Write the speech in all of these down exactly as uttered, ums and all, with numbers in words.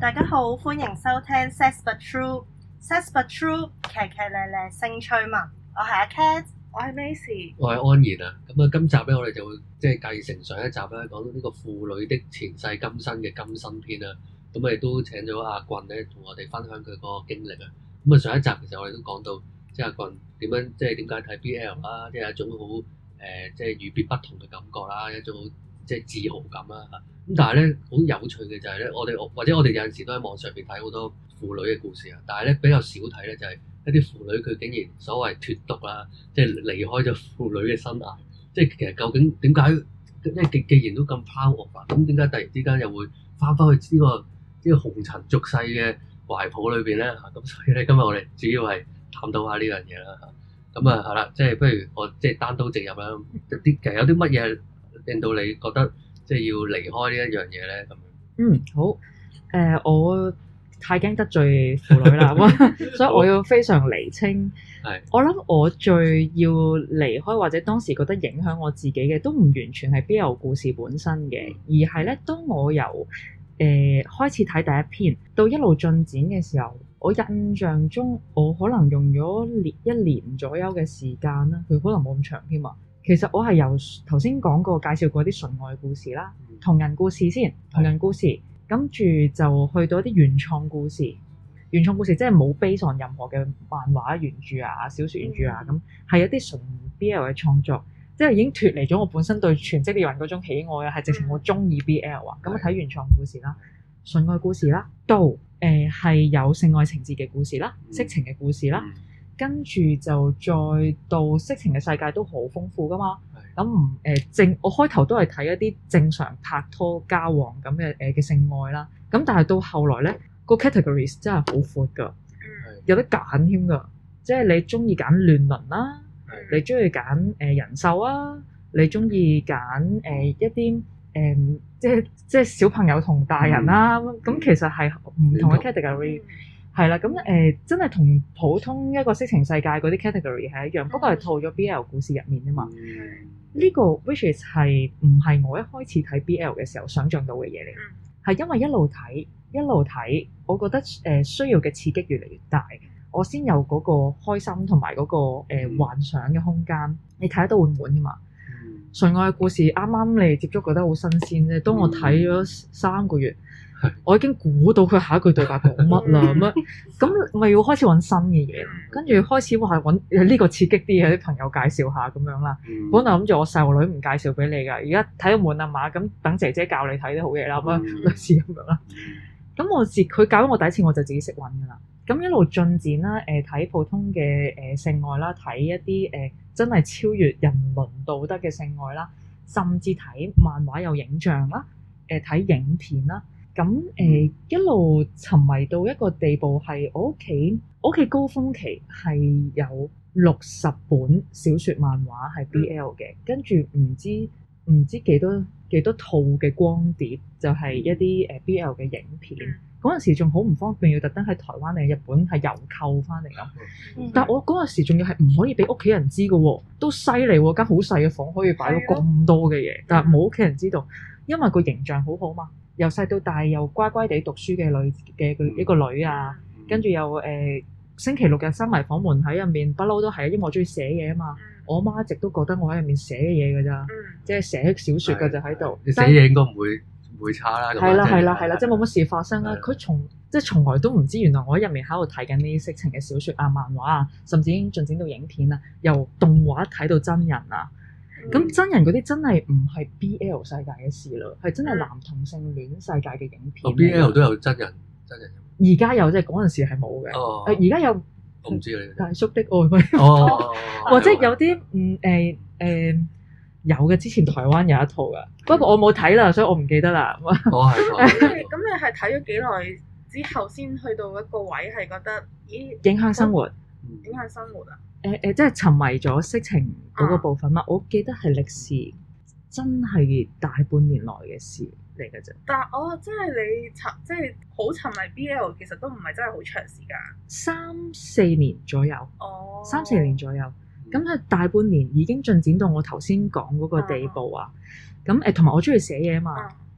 大家好，歡迎收聽 Sex But True，Sex But True 騎騎咧咧性趣聞，我係阿 Cat， 我係 Macy， 我係安然啊。咁啊，今集咧我哋就會即係繼承上一集咧，講到呢個婦女的前世今生嘅今生篇啦。咁我哋都請咗阿棍咧，同我哋分享佢個經歷啊。咁啊，上一集其實我哋都講到，即係阿棍點樣，即係點解睇 B L 啦，即係一種好誒、呃，即係與別不同嘅感覺啦，一種好即係自豪感啦嚇。咁但係咧，好有趣嘅就係咧，我哋或者我哋有陣時都喺網上邊睇好多婦女嘅故事啊，但係咧比較少睇咧就係一啲婦女佢竟然所謂脫毒啦，即係離開咗婦女嘅生涯，即係其實究竟點解？即係既既然都咁 power 啊，咁點解突然之間又會翻返去呢個呢個紅塵俗世嘅懷抱裏邊咧嚇？咁所以咧今日我哋主要係探討下呢樣嘢啦嚇。咁啊係啦，即係不如我即係單刀直入啦。啲其實有啲乜嘢令到你覺得即係要離開呢一樣嘢咧咁樣？ 嗯，好，誒、呃，我太驚得罪婦女啦，所以我要非常釐清。 係， 我諗我最要離開或者當時覺得影響我自己嘅，都唔完全係 B L 故事本身嘅，而係咧，當我由誒、呃、開始睇第一篇到一路進展嘅時候，我印象中我可能用咗年一年左右嘅時間啦，佢可能冇咁長添啊。其實我係由頭先講過介紹過啲純愛故事啦，同人故事先，同人故事，跟住就去到一啲原創故事。原創故事即係冇 base on 任何嘅漫畫原著啊、小説原著啊，咁係一啲純 B L 嘅創作，即係已經脫離咗我本身對全職獵人嗰種喜愛啊，係直情我中意 B L 啊。咁我睇原創故事啦、純愛故事啦，到誒係、呃、有性愛情節嘅故事啦、色情嘅故事啦。跟住就再到色情嘅世界都好豐富噶嘛，咁唔誒正我開頭都係睇一啲正常拍拖交往咁嘅誒嘅性愛啦，咁但係到後來咧個 categories 真係好闊噶，有得揀添噶，即係你中意揀亂倫啦，你中意揀誒人獸啊，你中意揀誒一啲誒、呃、即係即係小朋友同大人啦，咁、嗯、其實係唔同嘅 category。係啦，咁誒、呃、真係同普通一個色情世界嗰啲 category 係一樣，不過係套咗 B L 故事入面啊嘛。呢、嗯、個 which is 係唔係我一開始睇 B L 嘅時候想像到嘅嘢嚟？係、嗯、因為一路睇一路睇，我覺得誒、呃、需要嘅刺激越嚟越大，我先有嗰個開心同埋嗰個、呃、幻想嘅空間。你睇得到會唔悶㗎嘛？純愛嘅故事啱啱你接觸覺得好新鮮啫，當我睇咗三個月。我已經估到佢下一句對白講乜啦，咁樣咁咪要開始揾新嘅嘢，跟住開始話揾呢個刺激啲嘅啲朋友介紹下咁樣啦。嗯、本來諗住我細路女唔介紹俾你㗎，而家睇到悶啊嘛，咁等姐姐教你睇啲好嘢啦，咁樣類似咁樣啦。咁我自佢教咗我第一次，我就自己識揾㗎啦。咁一路進展啦，誒、呃、睇普通嘅誒、呃、性愛啦，睇一啲誒、呃、真係超越人倫道德嘅性愛啦，甚至睇漫畫有影像啦，誒、呃、睇影片啦。咁誒、呃、一路沉迷到一個地步，係我屋企我屋企高峰期係有六十本小説漫畫係 B L 嘅，跟住唔知唔知幾多幾多套嘅光碟，就係、是、一啲誒 B L 嘅影片。嗰陣、嗯、時仲好唔方便，要特登喺台灣定日本係郵購翻嚟咁。嗯、但係我嗰陣時仲要係唔可以俾屋企人知嘅喎，都犀利喎！間好細嘅房可以擺到咁多嘅嘢，的但係冇屋企人知道，因為個形象好好嘛。由細到大又乖乖地讀書嘅女嘅一個女啊，跟住又誒、呃、星期六日閂埋房門喺入面，不嬲都係，因為我中意寫嘢啊嘛。我媽一直都覺得我喺入面寫嘢㗎咋，即係寫小説㗎就喺度。 你寫嘢應該唔會唔會差啦。 係啦係啦係啦，即係冇乜事發生啦。佢從即係從來都唔知，原來我喺入面喺度睇緊呢啲色情嘅小説啊、漫畫啊，甚至已經進展到影片啊，由動畫睇到真人啊。咁、嗯、真人嗰啲真係唔係 B L 世界嘅事咯，係真係男同性戀世界嘅影片。 B L 都有真人，真人而家有，即係嗰陣時係冇嘅。 哦， 而家有， 我唔知你大叔的愛咩？ 哦， 或者有啲嗯誒誒有嘅，之前台灣有一套噶，不過我冇睇啦，所以我唔記得啦。 哦係。 咁你係睇咗幾耐之後先去到一個位係覺得咦影響生活？ 影響生活啊？ 誒誒、呃，即係沉迷咗色情嗰個部分嘛？啊、我記得係歷時真係大半年來嘅事嚟嘅啫。 但係哦，即係你沉，即係好沉迷 B L， 其實都唔係真係好長時間， 三四年左右。 哦，三四年左右。咁佢、嗯、大半年已經進展到我頭先講嗰個地步啊。咁誒、啊，同埋我中意寫嘢啊嘛。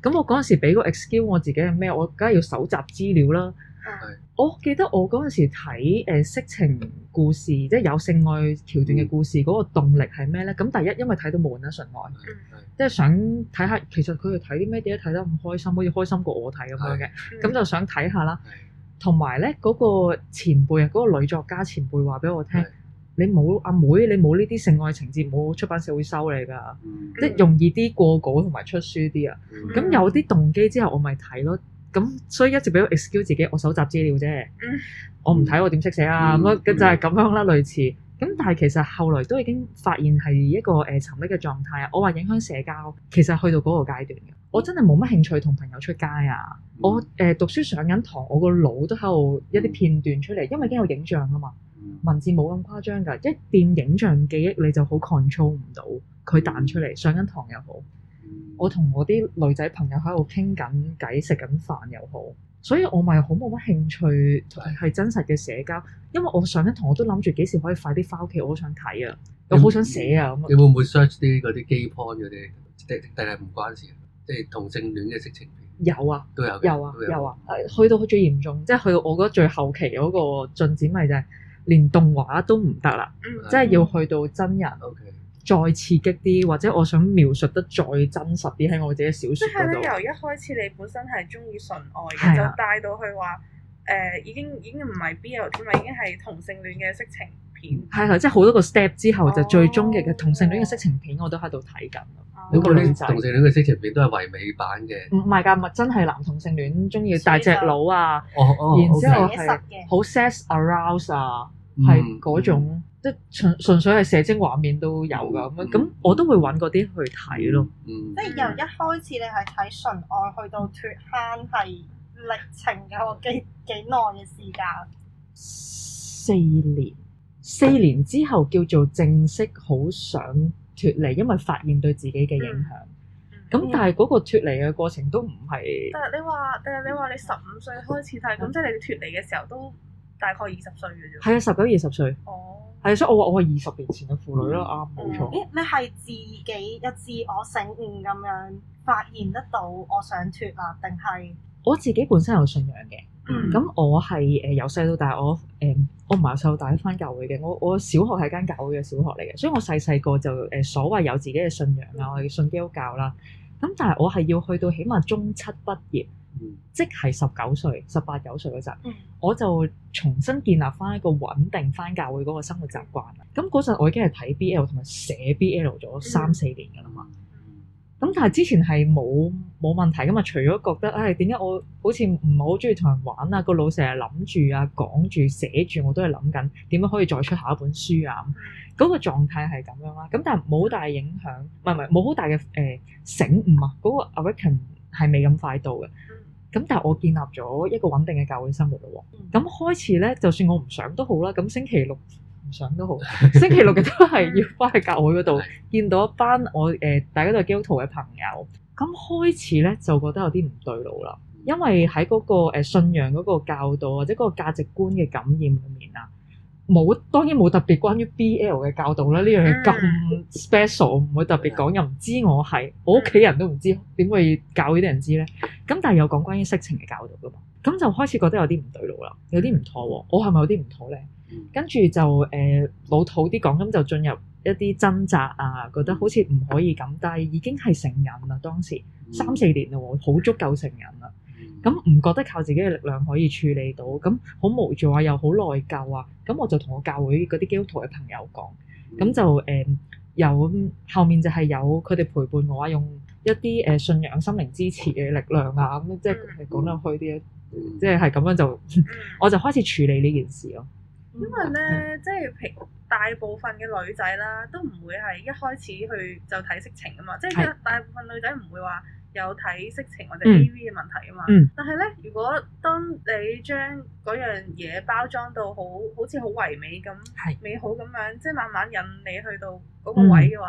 咁我嗰陣時俾個 excuse 我自己係咩？我梗係要搜集資料啦。 係我記得我嗰陣時睇誒色情故事，即係有性愛橋段嘅故事，嗰、嗯、個動力係咩咧？咁第一因為睇到悶啦，純愛，即係想睇下其實佢哋睇啲咩，點解睇得咁開心，好似開心過我睇咁樣嘅，咁就想睇下啦。同埋咧嗰個前輩啊，嗰、嗰個女作家前輩話俾我聽，你冇阿妹，你冇呢啲性愛情節，冇出版社會收你㗎，嗯、即係容易啲過稿同埋出書啲啊。咁、嗯、有啲動機之後，我咪睇咯。咁所以一直俾我 excuse 自己，我搜集資料啫。嗯、我唔睇我點識寫啊？咁、嗯、就係咁樣啦，類似。咁但係其實後來都已經發現係一個誒沉溺嘅狀態啊。我話影響社交，其實去到嗰個階段嘅，我真係冇乜興趣同朋友出街啊。嗯、我誒、呃、讀書上緊堂，我個腦都喺度一啲片段出嚟，因為已經有影像啊嘛。文字冇咁誇張㗎，一掂影像記憶你就好 control 唔到佢彈出嚟。上緊堂又好。我同我啲女仔朋友喺度傾緊偈、食緊飯又好，所以我咪好冇乜興趣係真實嘅社交，因為我上緊堂我都諗住幾時可以快啲翻屋企，我好想睇啊，又好想寫啊咁。 你會唔會 search 啲嗰啲 gay porn 嗰啲，定定係唔關事？即係同性戀嘅色情片有啊， 都有， 有啊，有啊。去到最嚴重，即係去到我覺得最後期嗰個進展，咪就係連動畫都唔得啦，即係要去到真人。 Okay. 再刺激啲，或者我想描述得再真實啲喺我自己小説嗰度。 即係咧，由一開始你本身係中意純愛嘅，就帶到去話誒已經已經唔係 B L 添嘛，已經係同性戀嘅色情片。 係係，即係好多個 step 之後，就最終極嘅同性戀嘅色情片我都喺度睇緊。 嗰個女仔同性戀嘅色情片都係唯美版嘅。 唔係㗎，咪真係男同性戀中意大隻佬啊， 哦、 然之後係好 sex arouse 啊，係嗰、嗯、種。即係純純粹係射精畫面都有㗎咁樣，咁我都會揾嗰啲去睇咯。 嗯，即係由一開始你係睇純愛，去到脫坑係歷程嘅幾幾耐嘅時間？ 四年，四年之後叫做正式好想脫離，因為發現對自己嘅影響。咁、嗯、但係嗰個脫離嘅過程都唔係。 但係你話，但係你話你十五歲開始睇，咁、嗯、即係你脫離嘅時候都大概二十歲嘅啫。 係啊，十九二十歲。 哦。 係，所以我話我係二十年前嘅婦女咯，啱冇、嗯、錯。 咦？你係自己有自我醒悟咁樣發現得到我想脫啊？定係我自己本身有信仰嘅。咁、嗯、我係誒由細到大，我誒、呃、我唔係由細到大返教會嘅。我我小學係間教會嘅小學嚟嘅，所以我細細個就誒、呃、所謂有自己嘅信仰啊，我哋信基督教啦。咁但係我係要去到起碼中七畢業。嗯、即係十九歲、十八九歲嗰陣，嗯、我就重新建立翻一個穩定翻教會嗰個生活習慣。咁嗰陣我已經係睇 B L 同埋寫 B L 咗三四年㗎啦嘛。咁、嗯、但係之前係冇冇問題㗎嘛，除咗覺得唉點解我好似唔係好中意同人玩啊，個腦成日諗住啊、講住、寫住，我都係諗緊點樣可以再出下一本書啊。嗰、嗯、個狀態係咁樣啦。咁但係冇好大影響，唔係唔係冇好大嘅誒、呃、醒悟啊。嗰、嗰個 awaken 係未咁快到嘅。咁但係我建立咗一個穩定嘅教會生活咯喎，咁、嗯、開始咧，就算我唔想都好啦，咁星期六唔想都好，星期六嘅都係要翻去教會嗰度見到一班我誒、呃、大家都係基督徒嘅朋友，咁開始咧就覺得有啲唔對路啦，因為喺嗰個誒信仰嗰個教導或者嗰個價值觀嘅感染裏面啊。冇，當然冇特別關於 B L 嘅教導啦，呢樣嘢咁 special，唔會特別講，又唔知我係，我屋企人都唔知，點會教呢啲人知咧？咁但係有講關於色情嘅教導噶嘛，咁就開始覺得有啲唔對路啦，有啲唔妥喎，我係咪有啲唔妥咧？跟住就誒、呃、老土啲講，咁就進入一啲掙扎啊，覺得好似唔可以咁，但係已經係成人啦，當時三四年啦喎，好足夠成人啦。咁唔覺得靠自己嘅力量可以處理到，咁好無助啊，又好內疚啊，咁我就同我教會嗰啲基督徒嘅朋友講，咁就誒、呃、有後面就係有佢哋陪伴我啊，用一啲誒、呃、信仰心靈支持嘅力量啊，咁即係講得虛啲，即係係咁樣就我就開始處理呢件事咯。 因為咧，即係平大部分嘅女仔啦，都唔會係一開始去就睇色情啊嘛，即係大部分女仔唔會話有睇色情或者 A V 嘅問題啊嘛。嗯、但係咧，如果當你將嗰樣嘢包裝到好好似好唯美咁、美好咁樣，即係慢慢引你去到嗰個位嘅話，嗯、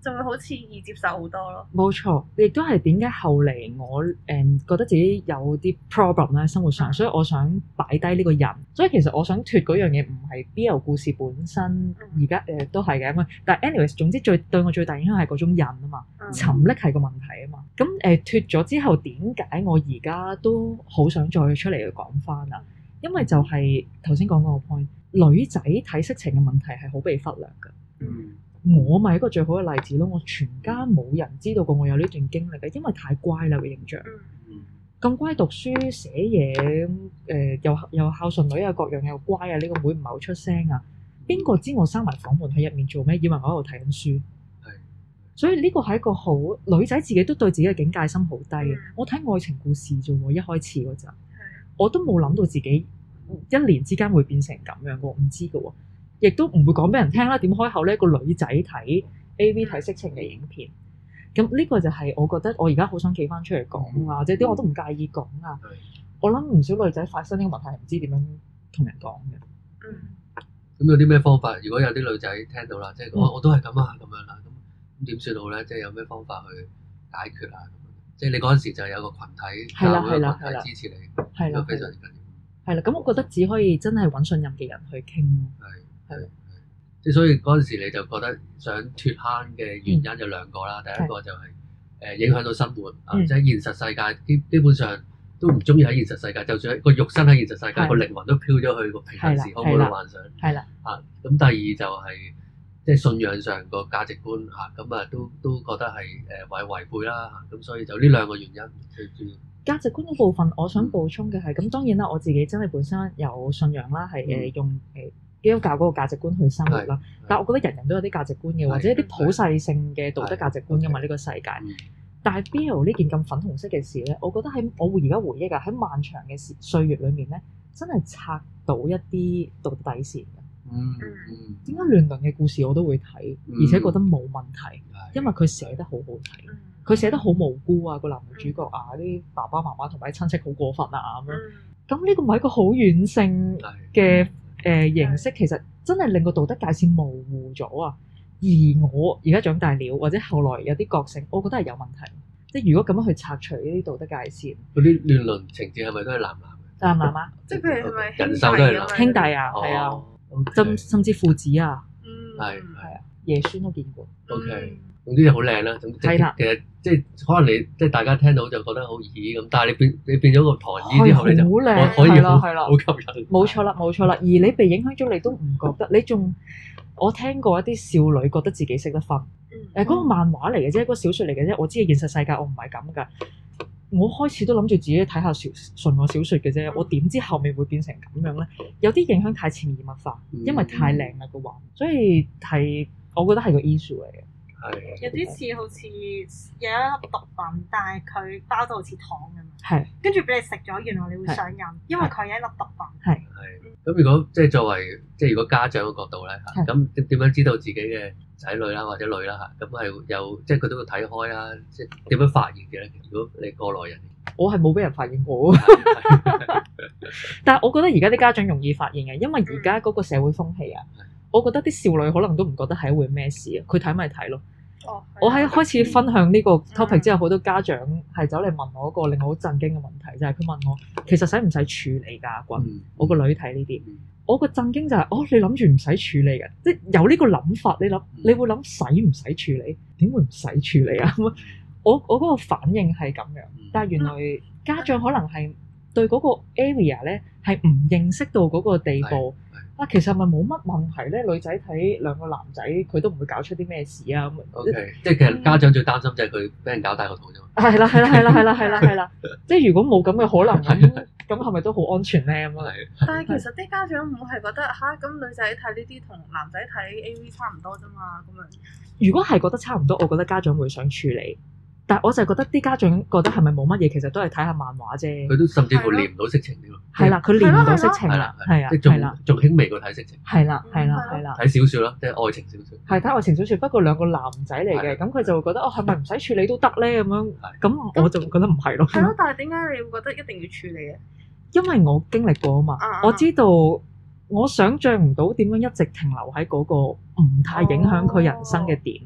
就會好似易接受好多咯。 冇錯，亦都係點解後嚟我誒、嗯、覺得自己有啲 problem 咧生活上，所以我想擺低呢個人。所以其實我想脱嗰樣嘢唔係 B L 故事本身，而家誒都係嘅。但係 anyways 總之最對我最大影響係嗰種人啊嘛，嗯、沉溺係個問題啊嘛。咁誒脱咗之後，點解我而家都好想再出嚟去講翻啊？因為就係頭先講嗰個 point，女仔睇色情嘅問題係好被忽略㗎。 嗯。 我咪一個最好嘅例子咯，我全家冇人知道過我有呢段經歷嘅，因為太乖啦個形象，咁乖讀書寫嘢，誒、呃、又又孝順女啊，各樣又乖啊，呢、這個妹唔係好出聲啊，邊個知我閂埋房門喺入面做咩？以為我喺度睇緊書， 係， 所以呢個係一個好女仔自己都對自己嘅警戒心好低嘅。嗯、我睇愛情故事啫喎，一開始嗰陣，我都冇諗到自己一年之間會變成咁樣嘅，唔知嘅喎。亦都唔會講俾人聽啦。點開口呢？個女仔睇 A V 睇色情嘅影片，咁呢個就係我覺得我而家好想企翻出嚟講啊，或者啲我都唔介意講啊。嗯、我諗唔少女仔發生呢個問題係唔知點樣同人講嘅。 嗯。咁有啲咩方法？如果有啲女仔聽到啦，即係我、嗯、我都係咁啊，咁樣啦，咁咁點算好咧？即係有咩方法去解決啊？即係你嗰陣時就有個群體， 係啦係啦係啦，支持你， 係啦， 非常緊要。 係啦，咁我覺得只可以真係揾信任嘅人去傾咯。 係。係，即係所以嗰陣時你就覺得想脫坑嘅原因有兩個啦。嗯、第一個就係、是、誒、呃、影響到生活、嗯、啊，即係現實世界基基本上都唔中意喺現實世界，就算個肉身喺現實世界，個、嗯、靈魂都飄咗去個平行時空嗰度幻想。係啦，啊咁第二就係、是、即係信仰上個價值觀嚇，咁啊都都覺得係誒違違背啦嚇，咁所以就呢兩個原因最主要。 價值觀嗰部分，我想補充嘅係咁，當然啦，我自己真係本身有信仰啦，係誒用誒基督教嗰個價值觀去生活啦。但係我覺得人人都有啲價值觀嘅，或者一啲普世性嘅道德價值觀㗎嘛，呢個世界。但係 B L 呢件咁粉紅色嘅事咧，我覺得喺我而家回憶啊，喺漫長嘅時歲月裏面咧，真係拆到一啲道德底線嘅。嗯嗯。點解亂倫嘅故事我都會睇，而且覺得冇問題，因為佢寫得好好睇。佢寫得好無辜啊！個男女主角啊，啲爸爸媽媽同埋啲親戚好過分啊咁樣。咁呢個唔係一個好軟性嘅誒、呃、形式，其實真係令個道德界線模糊咗啊！而我而家長大了，或者後來有啲覺醒，我覺得係有問題。即係如果咁樣去拆除呢啲道德界線， 嗰啲亂倫情節係咪都係男男嘅？ 男男啊？ 即係譬如係咪人獸都係男兄弟啊？係啊，甚甚至父子啊， 係係啊，爺孫都見過。 OK。總之就好靚啦，總之其實即係可能你即係大家聽到就覺得好咦咁，但係你變你變咗個唐衣之後，你就可以好好吸引。 冇錯啦，冇錯啦。而你被影響咗，你都唔覺得。你仲我聽過一啲少女覺得自己識得分。誒、嗯，嗰、嗰個漫畫嚟嘅啫，嗰個小説嚟嘅啫。我知嘅現實世界我唔係咁㗎。我開始都諗住自己睇下小純愛小説嘅啫。我點知後面會變成咁樣咧？有啲影響太潛移默化，因為太靚啦個畫，所以係我覺得係個 issue 嚟嘅。 有啲似好似有一粒毒品，但係佢包到好似糖咁樣。 係。跟住俾你食咗，原來你會上癮，因為佢係一粒毒品。 係。 係。咁如果即係作為即係如果家長嘅角度咧嚇，咁點點樣知道自己嘅仔女啦或者女啦嚇，咁係有即係佢都會睇開啦，即係點樣發現嘅咧？如果你過來人， 我係冇俾人發現過。但係我覺得而家啲家長容易發現嘅，因為而家嗰個社會風氣啊。我覺得啲少女可能都唔覺得係一回咩事啊，佢睇咪睇咯。哦，我喺開始分享呢個 topic 之後，好多家長係走嚟問我一個令我好震驚嘅問題，就係、是、佢問我其實使唔使處理㗎？阿君，嗯、我個女睇呢啲，嗯、我個震驚就係、是、哦，你諗住唔使處理嘅，即係有呢個諗法，你諗你會諗使唔使處理？點會唔使處理啊？我我嗰個反應係咁樣，但係原來家長可能係對嗰個 area 咧係唔認識到嗰個地步。啊，其實咪冇乜問題咧，女仔睇兩個男仔，佢都唔會搞出啲咩事啊咁。 O K，即係其實家長最擔心就係佢俾人搞大個肚啫嘛。 係啦，係啦，係啦，係啦，係啦，係啦。即係如果冇咁嘅可能咁，咁係咪都好安全咧？咁啊， 但係其實啲家長唔係覺得吓，咁女仔睇呢啲同男仔睇 A V 差唔多啫嘛，咁樣。 如果係覺得差唔多，我覺得家長會想處理。但係我就覺得啲家長覺得係咪冇乜嘢，其實都係睇下漫畫啫。 佢都甚至乎練唔到色情添喎。 係啦，佢練唔到色情啦，係啊， 即係仲仲輕微過睇色情。 係啦，係啦，係啦。 睇小説咯，即係愛情小説。 係睇愛情小説，不過兩個男仔嚟嘅，咁佢就會覺得哦，係咪唔使處理都得咧？咁樣，咁我就覺得唔係咯。 係咯，但係點解你會覺得一定要處理嘅？ 因為我經歷過啊嘛，我知道我想像唔到點樣一直停留喺嗰個唔太影響佢人生嘅點。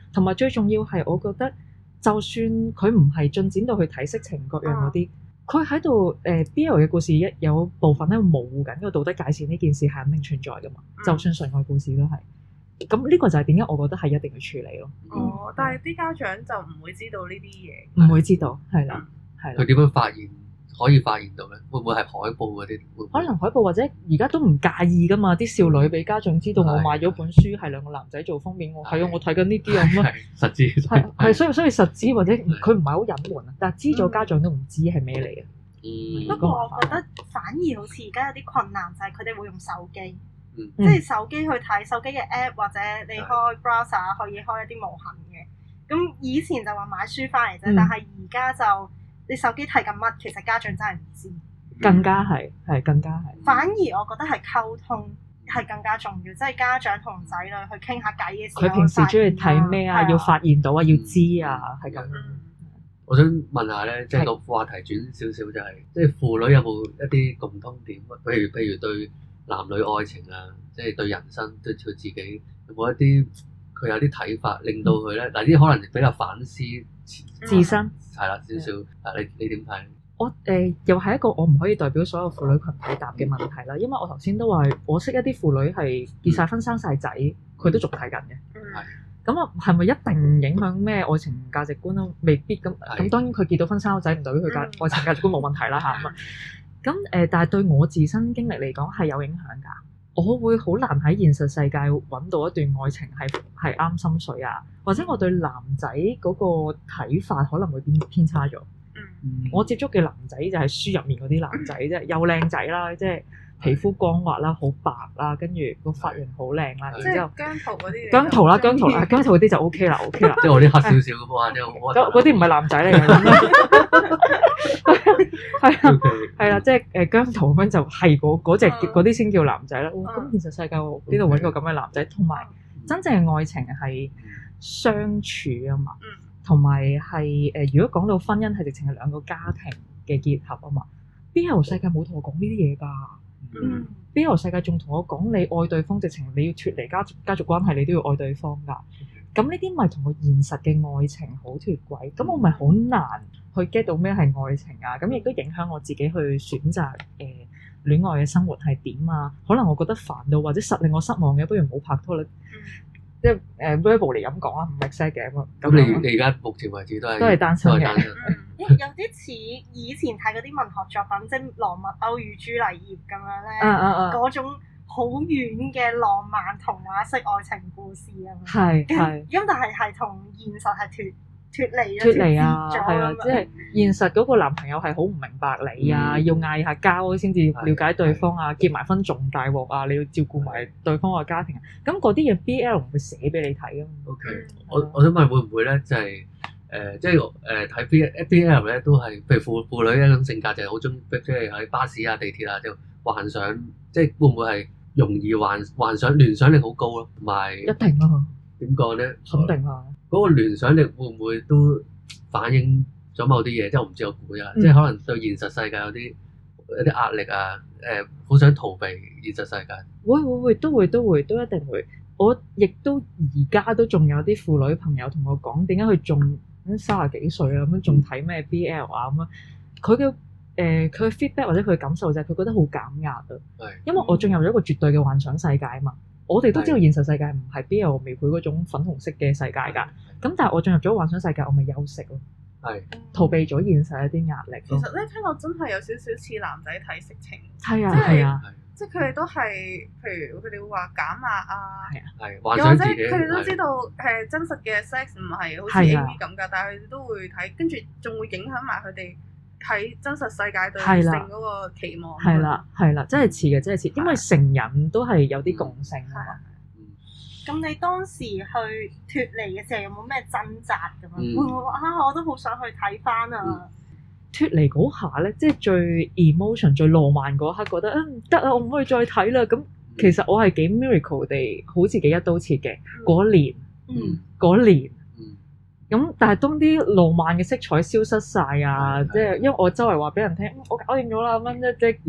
同埋最重要係我覺得，就算佢唔係進展到去睇色情各樣嗰啲，佢喺度誒 B L 嘅故事一有部分咧模糊緊個道德界線呢件事係肯定存在噶嘛，嗯、就算純愛故事都係。咁呢個就係點解我覺得係一定要處理咯。 哦，但係啲家長就唔會知道呢啲嘢， 唔會知道，係啦，係啦。 佢點樣發現？可以發現到咧？會唔會係海報嗰啲？ 可能海報或者而家都唔介意噶嘛？啲少女俾家長知道我買咗本書係兩個男仔做封面，我係啊，我睇緊呢啲啊咁啊， 實知係係，所以所以實知或者佢唔係好隱瞞啊，但係知咗家長都唔知係咩嚟嘅。 嗯， 不過我覺得反而好似而家有啲困難就係佢哋會用手機， 嗯、 即係手機去睇手機嘅 app 或者你開 browser 可以開一啲無痕嘅。咁以前就話買書翻嚟啫，嗯、但係而家就你手機睇緊乜，其實家長真係唔知。 更加係係更加係。 反而我覺得係溝通係更加重要，即係家長同仔女去傾下偈嘅時候， 佢平時中意睇咩啊？要發現到啊，要知啊，係咁。 我想問下咧，即係個話題轉少少，就係即係父女有冇一啲共通點？譬如譬如對男女愛情啊，即係對人生對佢自己有冇一啲佢有啲睇法，令到佢咧嗱啲可能比較反思自身係啦少少。啊，你你點睇？ 我誒、呃、又係一個我唔可以代表所有婦女群體答嘅問題啦，因為我頭先都話我識一啲婦女係結晒婚生晒仔，佢都仲睇緊嘅。 係咁啊，係咪一定影響咩愛情價值觀都未必咁。咁當然佢結到婚生咗仔唔代表佢價愛情價值觀冇問題啦嚇。咁啊咁誒，但係對我自身經歷嚟講係有影響㗎。我會好難喺現實世界揾到一段愛情係係啱心水啊，或者我對男仔嗰個睇法可能會偏偏差咗。嗯、我接觸嘅男仔就係書入面嗰啲男仔啫，又靚仔啦，即係皮膚光滑啦，好白啦，跟住個髮型好靚啦，然之後姜濤嗰啲， 姜濤啦，姜濤啦，姜濤嗰啲就 O K 啦 ，O K 啦， 即係我啲黑少少嘅話，即係嗰嗰啲唔係男仔嚟嘅，係啊係啦，即係誒姜濤咁樣就係嗰嗰隻嗰啲先叫男仔啦。咁、哦、現實世界邊度揾個咁嘅男仔？同埋真正嘅愛情係相處啊嘛。同埋係誒，如果講到婚姻係直情係兩個家庭嘅結合啊嘛，B L 世界冇同我講呢啲嘢㗎。嗯，B L 世界仲同我講你愛對方，直情你要脫離家族家族關係，你都要愛對方㗎。咁呢啲咪同個現實嘅愛情好脫軌，咁我咪好難去 get 到咩係愛情啊？咁亦都影響我自己去選擇誒、呃、戀愛嘅生活係點啊？可能我覺得煩到或者實令我失望嘅，不如唔好拍拖啦。即係誒 verbal 嚟咁講啊，唔係 set 嘅咁。 咁你你而家目前為止都係都係單身嘅。 有啲似以前睇嗰啲文學作品，即係羅密歐與朱麗葉咁樣咧，嗰、啊啊啊、種好遠嘅浪漫童話式愛情故事啊。 係係。 咁但係係同現實係脫脫離脫離啊，係啊，即係現實嗰個男朋友係好唔明白你啊，嗯、要嗌下交先至了解對方啊，結埋婚仲大鑊啊，你要照顧埋對方個家庭啊，咁嗰啲嘢 B L 唔會寫俾你睇啊。 O K，我我想問會唔會咧，就係、是、誒、呃，即係誒睇 B B L 咧，都係譬如父父女一種性格就係好中，即係喺巴士啊、地鐵啊，就幻想，即係會唔會係容易幻幻想聯想力好高咯，同埋一定啊， 點講咧？ 肯定啊。嗰個聯想力會唔會都反映咗某啲嘢？即係我唔知我估啊，嗯、即係可能對現實世界有啲有啲壓力啊，誒、呃，好想逃避現實世界。 會會會都會都會都一定會。我亦都而家都仲有啲婦女朋友同我講，點解佢仲三十幾歲啊咁樣仲睇咩 B L 啊咁樣？佢嘅誒佢嘅 feedback 或者佢嘅感受就係佢覺得好減壓啊。係。因為我進入咗一個絕對嘅幻想世界啊嘛。我哋都知道現實世界唔係 B L 描繪嗰種粉紅色嘅世界㗎，咁但係我進入咗幻想世界，我咪休息咯，係逃避咗現實一啲壓力。 其實咧聽落真係有少少似男仔睇色情， 係啊係啊， 即係佢哋都係，譬如佢哋會話減壓啊， 係啊係幻想自己， 佢哋都知道誒真實嘅 sex 唔係好似 A V 咁㗎，但係佢哋都會睇，跟住仲會影響埋佢哋喺真實世界對性嗰個期望。 係啦係啦，真係似嘅真係似，因為成人都係有啲共性啊嘛。 咁你當時去脫離嘅時候有冇咩掙扎咁樣？會唔會話啊？我都好想去睇翻啊！ 脫離嗰下咧，即係最 emotion 最浪漫嗰刻，覺得啊唔得啊，我唔可以再睇啦。咁其實我係幾 miracle 地，好似幾一刀切嘅嗰年，嗰年。咁但係當啲浪漫嘅色彩消失晒啊，即係因為我周圍話俾人聽，我搞掂咗啦咁樣，即即即嗰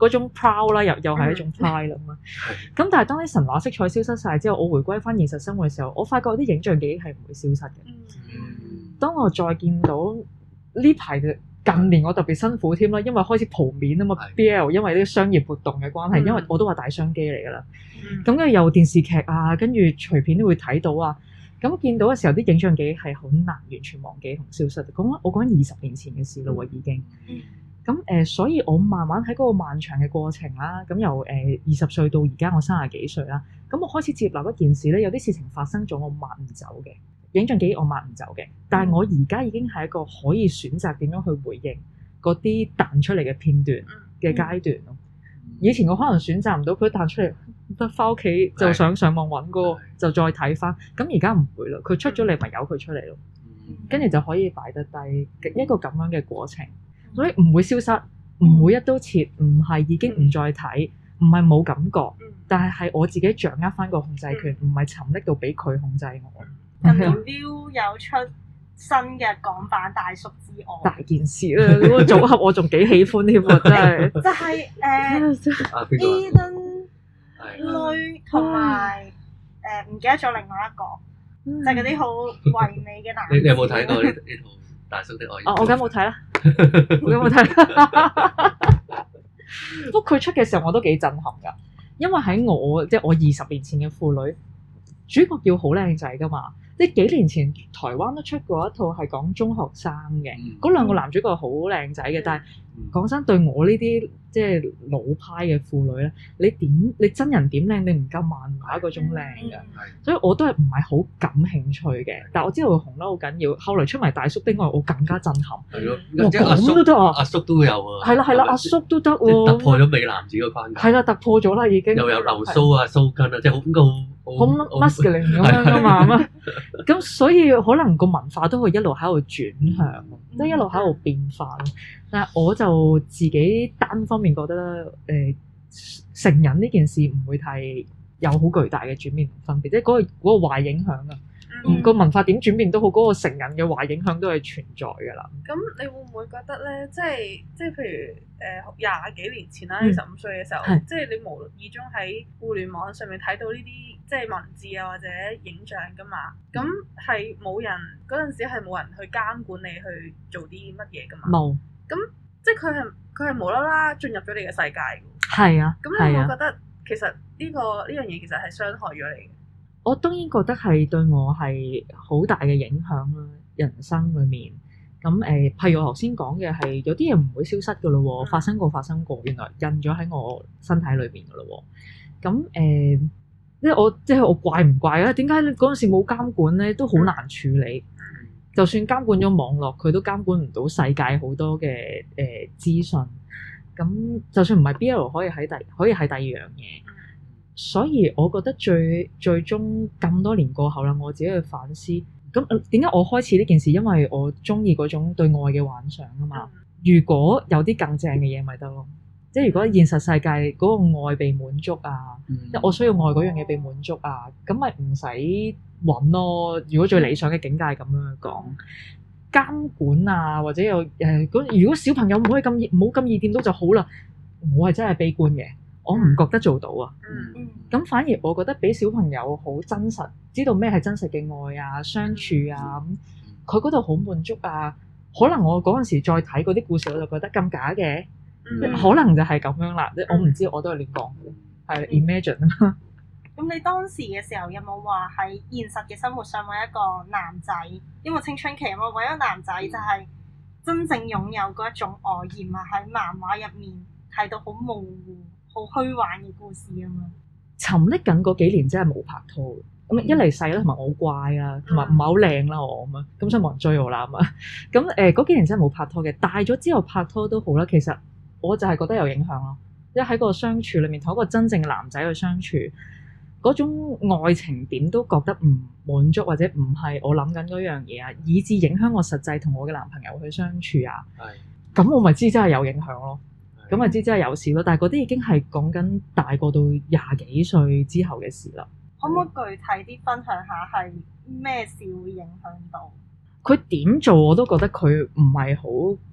嗰種 proud 啦，又又係一種 pride 啦嘛。咁但係當啲神話色彩消失晒之後，我回歸翻現實生活嘅時候，我發覺啲影像記憶係唔會消失嘅。 嗯、 當我再見到呢排嘅近年，我特別辛苦添啦，因為開始蒲面啊嘛係 ，B L 因為啲商業活動嘅關係， 嗯、 因為我都話大商機嚟㗎啦。 嗯咁跟住有電視劇啊，跟住隨便都會睇到啊。咁見到嘅時候，啲影像記憶係好難完全忘記同消失。講我講緊二十年前嘅事咯喎，已經。咁誒、呃，所以我慢慢喺嗰個漫長嘅過程啦，咁由誒二十歲到而家我三十幾歲啦，咁我開始接納一件事咧，有啲事情發生咗，我抹唔走嘅影像記憶，我抹唔走嘅。但係我而家已經係一個可以選擇點樣去回應嗰啲彈出嚟嘅片段嘅階段咯。以前我可能選擇唔到，佢彈出嚟，得翻屋企就想上網揾嗰個，就再睇翻。咁而家唔會啦，佢出咗嚟咪由佢出嚟咯，跟住就可以擺得低一個咁樣嘅過程，所以唔會消失，唔會一刀切，唔係已經唔再睇，唔係冇感覺，但係係我自己掌握翻個控制權，唔係沉溺到俾佢控制我。 近年 Viu 有出新嘅港版大叔之愛， 大件事啦！嗰個組合我仲幾喜歡添喎，真係。 就係誒 Eden 女同埋誒唔記得咗另外一個，就係嗰啲好唯美嘅男。 你你有冇睇過呢呢套大叔的愛？ 哦，我梗冇睇啦，我梗冇睇啦。不過佢出嘅時候我都幾震撼㗎，因為喺我即係我二十年前嘅婦女，主角要好靚仔㗎嘛。即係幾年前台灣都出過一套係講中學生嘅，嗰、嗯、兩個男主角好靚仔嘅，但係講真對我呢啲即係老派嘅婦女咧，你點你真人點靚，你唔夠漫畫嗰種靚嘅，嗯、所以我都係唔係好感興趣嘅。但係我知道佢紅得好緊要，後來出埋大叔的愛，我更加震撼。 係咯， 哇咁都得啊！ 阿叔都有啊。 係啦係啦，阿叔都得喎。 突破咗美男子個框架。係啦，突破咗啦已經。又有留鬚啊、鬚根啊，即係好高。 好 muscular 咁樣噶嘛，咁所以可能個文化都會一路喺度轉向，即係、嗯、一路喺度變化咯。但係我就自己單方面覺得咧，誒、呃、成人呢件事唔會太有好巨大嘅轉變同分別，即係嗰個嗰、嗰個壞影響啊。嗯、個文化點轉變都好，嗰、嗰個成人嘅壞影響都係存在㗎啦。 咁你會唔會覺得咧？即係即係譬如誒廿、呃、幾年前啦，二十五歲嘅時候， 嗯、 即係你無意中喺互聯網上面睇到呢啲即係文字啊或者影像㗎嘛？咁係冇人嗰陣時係冇人去監管你去做啲乜嘢㗎嘛？冇。咁即係佢係佢係無啦啦進入咗你嘅世界㗎。 係啊。 咁你會覺得其實呢、呢個呢樣嘢其實係傷害咗你嘅？ 我當然覺得係對我係好大嘅影響啦，人生裏面咁誒、呃，譬如我頭先講嘅係有啲嘢唔會消失㗎咯喎，發生過發生過，原來印咗喺我身體裏面㗎咯喎。咁誒、呃，即係我即係我怪唔怪啊？點解嗰陣時冇監管咧？都好難處理。就算監管咗網絡，佢都監管唔到世界好多嘅誒資訊。咁就算唔係 B L 可以喺第可以係第二樣嘢。所以我覺得最最終咁多年過後啦，我自己去反思，咁點解我開始呢件事？因為我中意嗰種對愛嘅幻想啊嘛。如果有啲更正嘅嘢咪得咯，即係如果現實世界嗰個愛被滿足啊，即係、嗯、我需要愛嗰樣嘢被滿足啊，咁咪唔使揾咯。如果最理想嘅境界咁樣去講，監管啊或者有誒、呃，如果小朋友唔可以咁易，唔好咁易掂到就好啦。我係真係悲觀嘅。我唔覺得做到啊，咁、嗯、反而我覺得俾小朋友好真實，知道咩係真實嘅愛啊、相處啊，佢嗰度好滿足啊。可能我嗰陣時再睇嗰啲故事，我就覺得咁假嘅，嗯、可能就係咁樣啦。嗯、我唔知，我都係亂講嘅，係 imagine 啊。 咁你當時嘅時候有冇話喺現實嘅生活上揾一個男仔？因為青春期啊嘛，揾一個男仔就係真正擁有嗰一種愛，而唔係喺漫畫入面睇到好模糊、好虛幻嘅故事啊嘛。 沉溺緊嗰幾年真係冇拍拖，咁、嗯、一嚟細啦，同埋我好乖啦，同埋唔係好靚啦我咁啊，咁所以冇人追我啦咁啊。咁誒嗰幾年真係冇拍拖嘅，大咗之後拍拖都好啦。其實我就係覺得有影響咯，即係喺個相處裏面同一個真正嘅男仔去相處，嗰種愛情點都覺得唔滿足，或者唔係我諗緊嗰樣嘢啊，以至影響我實際同我嘅男朋友去相處啊。係，咁我咪知真係有影響咯。咁咪知真係有事咯，但係嗰啲已經係講緊大個到廿幾歲之後嘅事啦。 可唔可以具體啲分享下係咩事會影響到？ 佢點做我都覺得佢唔係好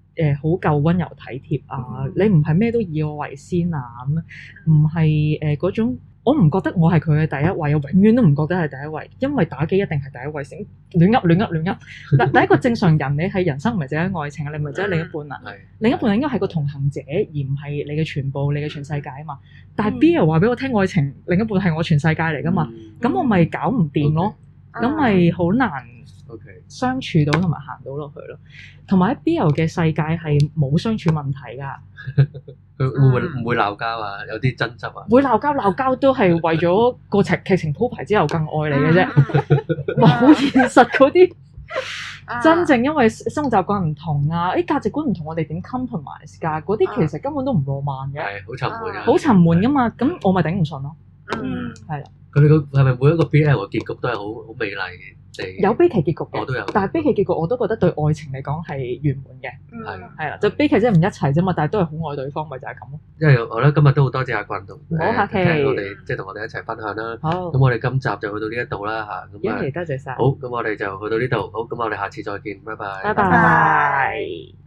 誒好夠温柔體貼啊，你唔係咩都以我為先啊咁，唔係誒嗰種。我唔覺得我係佢嘅第一位，我永遠都唔覺得係第一位，因為打機一定係第一位先，亂噏亂噏亂噏。嗱，第一個正常人，你係人生唔係淨係愛情啊，你唔係淨係另一半啊，另一半應該係個同行者，而唔係你嘅全部，你嘅全世界啊嘛。但係 B 又話俾我聽，愛情另一半係我全世界嚟噶嘛，咁、嗯、我咪搞唔掂咯，咁咪好難相處到同埋行到落去咯。同埋喺 B 友嘅世界係冇相處問題㗎。 佢會唔會唔會鬧交啊？有啲爭執啊？ 會鬧交，鬧交都係為咗個劇劇情鋪排之後更愛你嘅啫。哇，好現實嗰啲，真正因為生活習慣唔同啊，誒價值觀唔同，我哋點 compromise 㗎？嗰啲其實根本都唔浪漫嘅， 係好沉悶啊， 好沉悶㗎嘛。咁我咪頂唔順咯。 嗯， 係啦。佢哋個係咪每一個 B L 嘅結局都係好好美麗嘅？ 有悲劇結局嘅， 我都有。 但係悲劇結局我都覺得對愛情嚟講係圓滿嘅。 係係啦，就悲劇即係唔一齊啫嘛，但係都係好愛對方，咪就係咁咯。 因為我覺得今日都好多謝阿棍同唔好客氣， 我哋即係同我哋一齊分享啦。 好， 咁我哋今集就去到呢一度啦嚇。 咁啊，多謝晒。 好，咁我哋就去到呢度。好，咁我哋下次再見，拜拜。 拜拜。